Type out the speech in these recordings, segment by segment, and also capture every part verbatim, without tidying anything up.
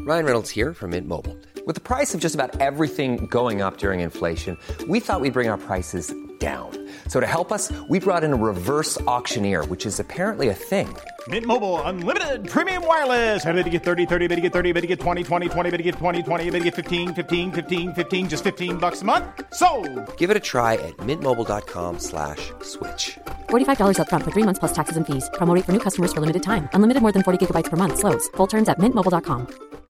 Ryan Reynolds here from Mint Mobile. With the price of just about everything going up during inflation, we thought we'd bring our prices down. So to help us, we brought in a reverse auctioneer, which is apparently a thing. Mint Mobile Unlimited Premium Wireless. How to get thirty, thirty, how to get thirty, how to get twenty, twenty, twenty, how to get twenty, twenty, how to get fifteen, fifteen, fifteen, fifteen, just fifteen bucks a month? Sold! Give it a try at mintmobile.com slash switch. forty-five dollars up front for three months plus taxes and fees. Promo rate for new customers for limited time. Unlimited more than forty gigabytes per month. Slows full terms at mint mobile dot com.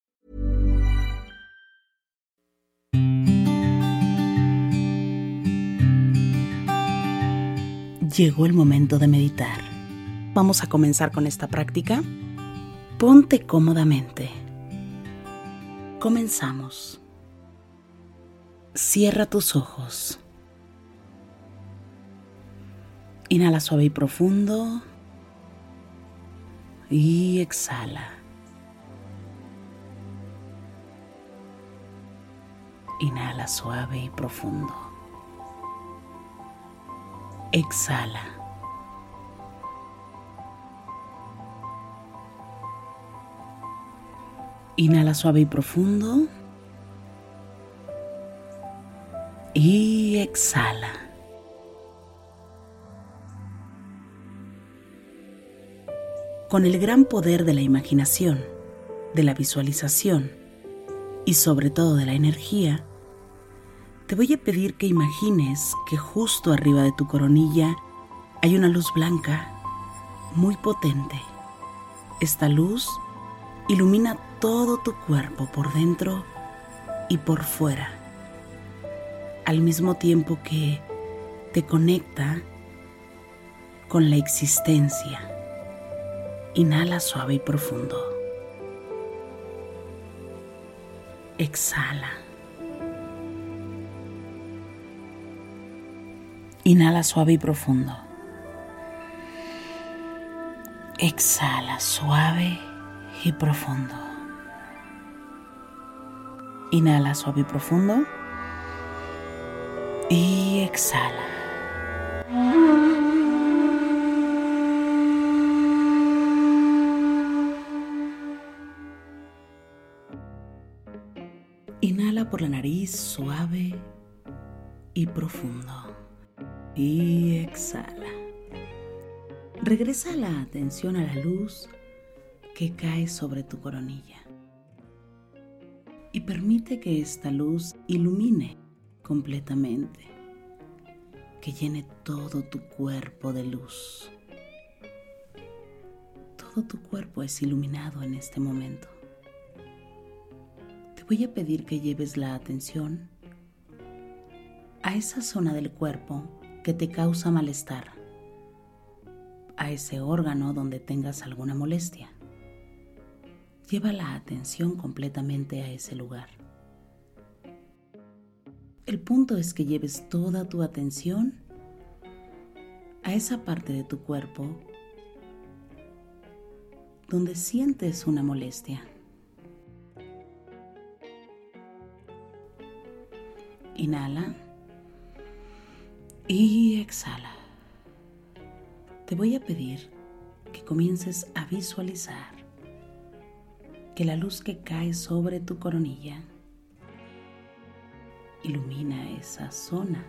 Llegó el momento de meditar. Vamos a comenzar con esta práctica. Ponte cómodamente. Comenzamos. Cierra tus ojos. Inhala suave y profundo. Y exhala. Inhala suave y profundo. Exhala. Inhala suave y profundo. Y exhala. Con el gran poder de la imaginación, de la visualización y sobre todo de la energía, te voy a pedir que imagines que justo arriba de tu coronilla hay una luz blanca muy potente. Esta luz ilumina todo tu cuerpo por dentro y por fuera, al mismo tiempo que te conecta con la existencia. Inhala suave y profundo. Exhala. Inhala suave y profundo. Exhala suave y profundo. Inhala suave y profundo. Y exhala. Inhala por la nariz suave y profundo. Y exhala. Regresa la atención a la luz que cae sobre tu coronilla. Y permite que esta luz ilumine completamente, que llene todo tu cuerpo de luz. Todo tu cuerpo es iluminado en este momento. Te voy a pedir que lleves la atención a esa zona del cuerpo que te causa malestar, a ese órgano donde tengas alguna molestia. Lleva la atención completamente a ese lugar. El punto es que lleves toda tu atención a esa parte de tu cuerpo donde sientes una molestia. Inhala y exhala. Te voy a pedir que comiences a visualizar que la luz que cae sobre tu coronilla ilumina esa zona.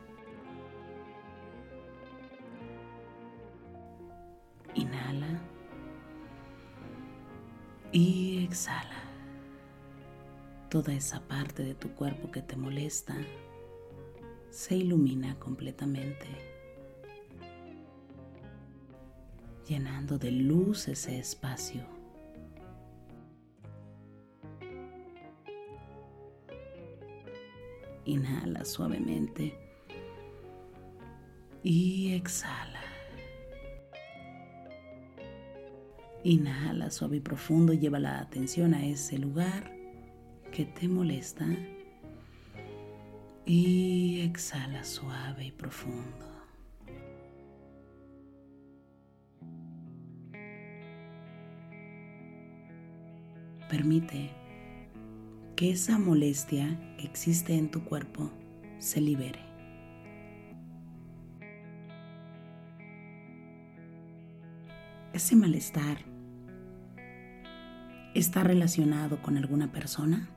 Inhala y exhala. Toda esa parte de tu cuerpo que te molesta se ilumina completamente, llenando de luz ese espacio. Inhala suavemente y exhala. Inhala suave y profundo, lleva la atención a ese lugar que te molesta y exhala suave y profundo. Permite que esa molestia que existe en tu cuerpo se libere. Ese malestar, ¿Está relacionado con alguna persona?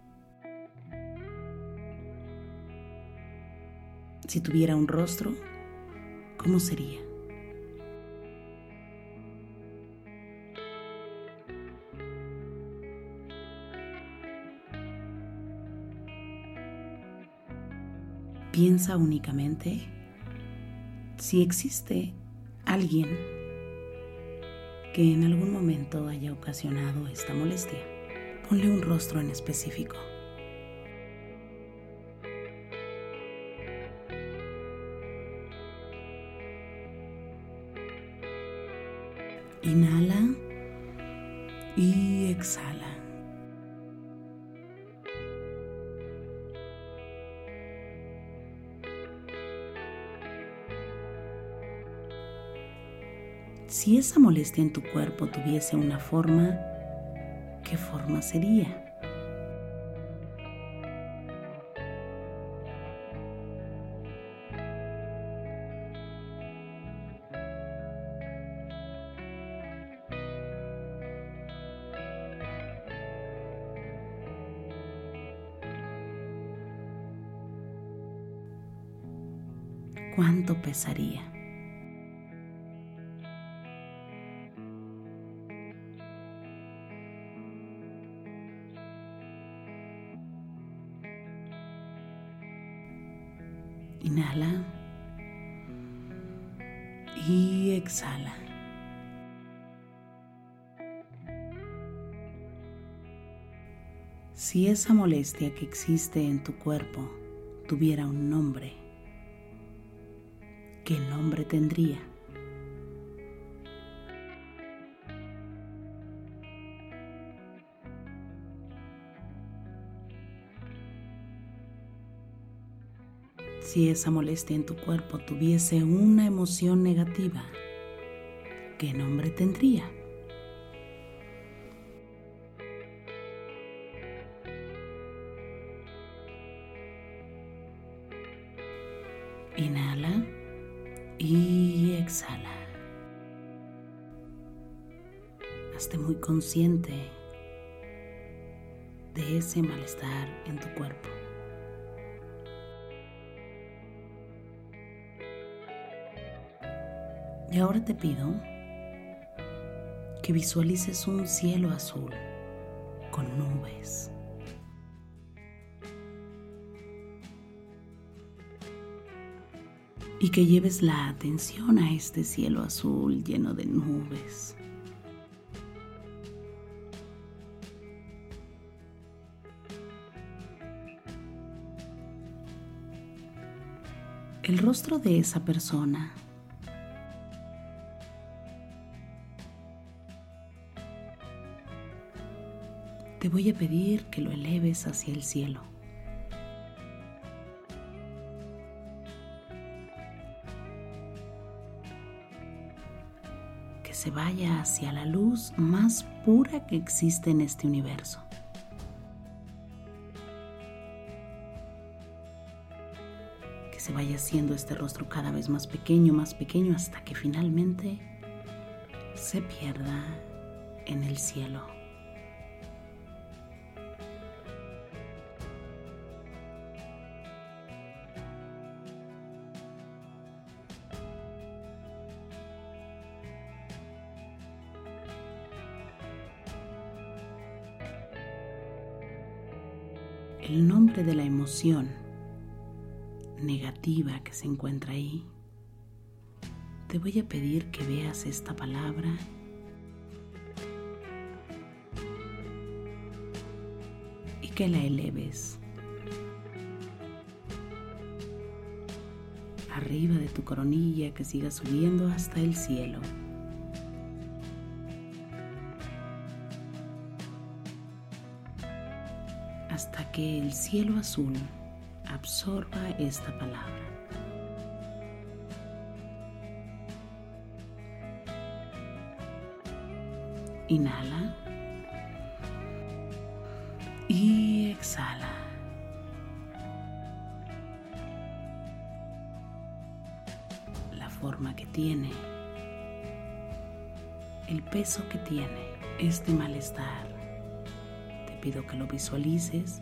Si tuviera un rostro, ¿cómo sería? Piensa únicamente si existe alguien que en algún momento haya ocasionado esta molestia. Ponle un rostro en específico. Inhala y exhala. Si esa molestia en tu cuerpo tuviese una forma, ¿qué forma sería? ¿Cuánto pesaría? Inhala y exhala. Si esa molestia que existe en tu cuerpo tuviera un nombre, ¿qué nombre tendría? Si esa molestia en tu cuerpo tuviese una emoción negativa, ¿qué nombre tendría? Inhala y exhala. Hazte muy consciente de ese malestar en tu cuerpo. Y ahora te pido que visualices un cielo azul con nubes. Y que lleves la atención a este cielo azul lleno de nubes. El rostro de esa persona te voy a pedir que lo eleves hacia el cielo. Que se vaya hacia la luz más pura que existe en este universo. Que se vaya haciendo este rostro cada vez más pequeño, más pequeño, hasta que finalmente se pierda en el cielo. El nombre de la emoción negativa que se encuentra ahí, te voy a pedir que veas esta palabra y que la eleves arriba de tu coronilla, que siga subiendo hasta el cielo. Hasta que el cielo azul absorba esta palabra. Inhala y exhala. La forma que tiene, el peso que tiene este malestar pido que lo visualices.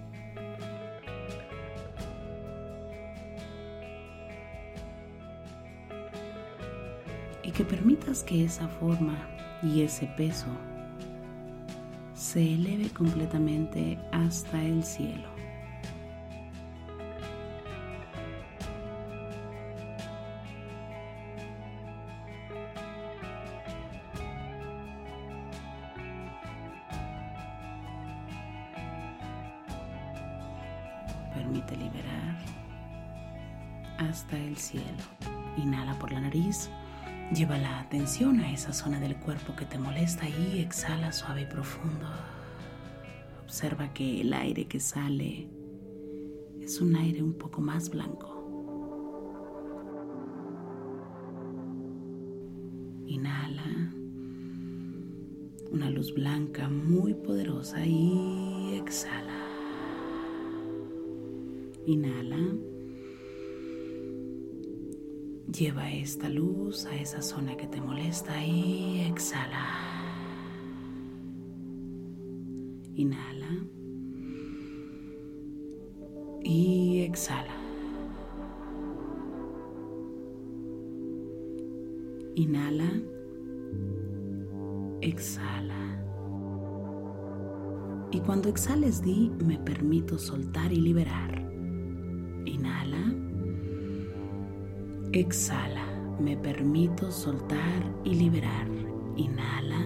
Y que permitas que esa forma y ese peso se eleve completamente hasta el cielo. Permite liberar hasta el cielo. Inhala por la nariz. Lleva la atención a esa zona del cuerpo que te molesta y exhala suave y profundo. Observa que el aire que sale es un aire un poco más blanco. Inhala una luz blanca muy poderosa y exhala. Inhala. Lleva esta luz a esa zona que te molesta y exhala. Inhala. Y exhala. Inhala. Exhala. Y cuando exhales di, me permito soltar y liberar. Inhala. Exhala, me permito soltar y liberar. Inhala.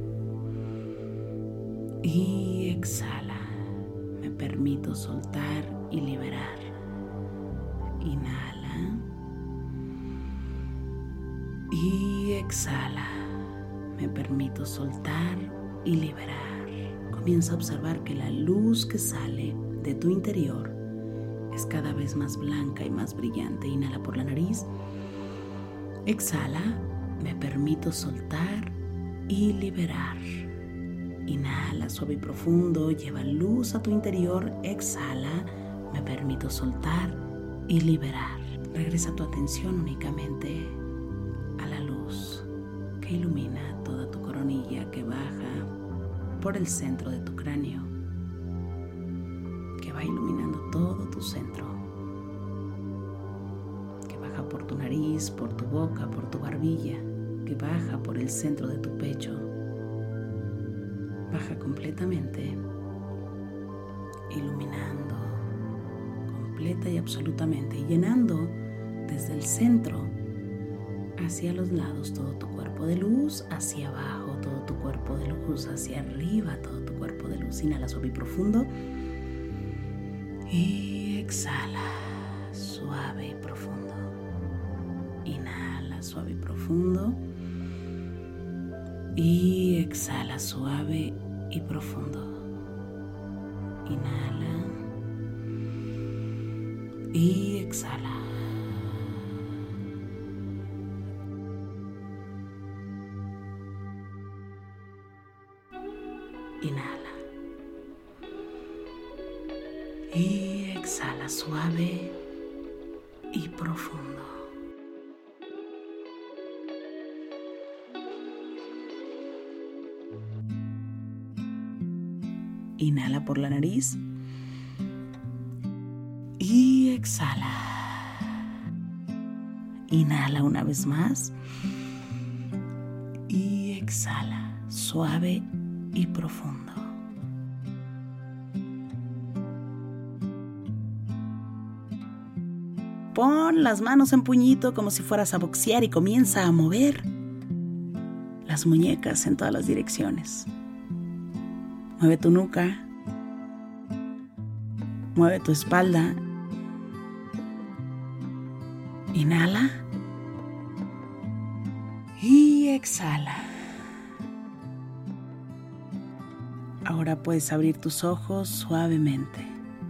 Y exhala, me permito soltar y liberar. Inhala. Y exhala, me permito soltar y liberar. Comienza a observar que la luz que sale de tu interior es cada vez más blanca y más brillante. Inhala por la nariz. Exhala, me permito soltar y liberar. Inhala suave y profundo, lleva luz a tu interior. Exhala, me permito soltar y liberar. Regresa tu atención únicamente a la luz que ilumina toda tu coronilla, que baja por el centro de tu cráneo, que va iluminando todo tu centro, que baja por tu nariz, por tu boca, por tu barbilla, que baja por el centro de tu pecho, baja completamente, iluminando completa y absolutamente, y llenando desde el centro hacia los lados todo tu cuerpo de luz, hacia abajo todo tu cuerpo de luz, hacia arriba todo tu cuerpo de luz. Inhala suave y profundo. Y exhala, suave y profundo. Inhala, suave y profundo. Y exhala, suave y profundo. Inhala. Y exhala. Inhala. Y exhala suave y profundo. Inhala por la nariz y exhala. Inhala una vez más y exhala suave y profundo. Pon las manos en puñito como si fueras a boxear y comienza a mover las muñecas en todas las direcciones. Mueve tu nuca, mueve tu espalda. Inhala y exhala. Ahora puedes abrir tus ojos suavemente.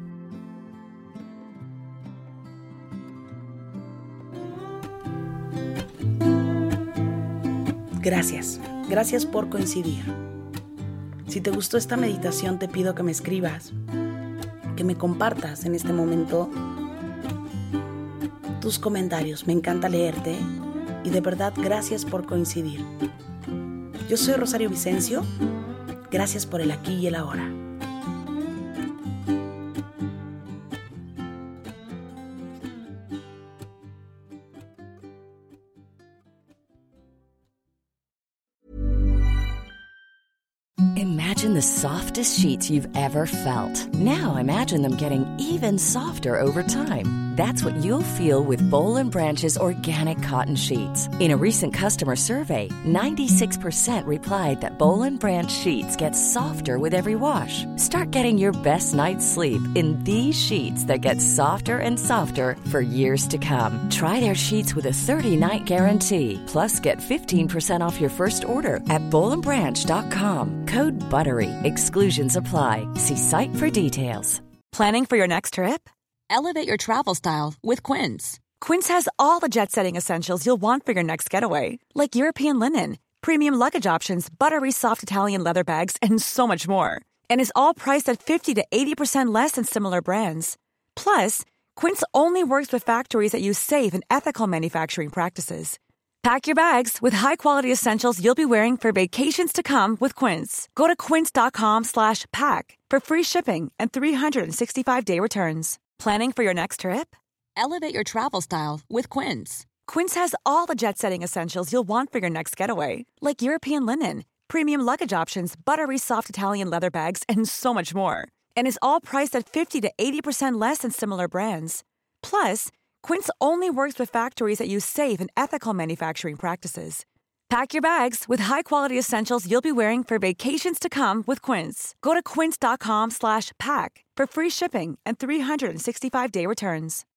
Gracias, gracias por coincidir. Si te gustó esta meditación, te pido que me escribas, que me compartas en este momento tus comentarios. Me encanta leerte y de verdad gracias por coincidir. Yo soy Rosario Vicencio. Gracias por el aquí y el ahora. Imagine the softest sheets you've ever felt. Now imagine them getting even softer over time. That's what you'll feel with Boll and Branch's organic cotton sheets. In a recent customer survey, ninety-six percent replied that Boll and Branch sheets get softer with every wash. Start getting your best night's sleep in these sheets that get softer and softer for years to come. Try their sheets with a thirty-night guarantee. Plus, get fifteen percent off your first order at boll and branch dot com. Code BUTTERY. Exclusions apply. See site for details. Planning for your next trip? Elevate your travel style with Quince. Quince has all the jet-setting essentials you'll want for your next getaway, like European linen, premium luggage options, buttery soft Italian leather bags, and so much more. And is all priced at fifty to eighty percent less than similar brands. Plus, Quince only works with factories that use safe and ethical manufacturing practices. Pack your bags with high-quality essentials you'll be wearing for vacations to come with Quince. Go to quince.com slash pack for free shipping and three sixty-five day returns. Planning for your next trip? Elevate your travel style with Quince. Quince has all the jet-setting essentials you'll want for your next getaway, like European linen, premium luggage options, buttery soft Italian leather bags, and so much more. And is all priced at fifty to eighty percent less than similar brands. Plus, Quince only works with factories that use safe and ethical manufacturing practices. Pack your bags with high-quality essentials you'll be wearing for vacations to come with Quince. Go to quince.com slash pack for free shipping and three sixty-five day returns.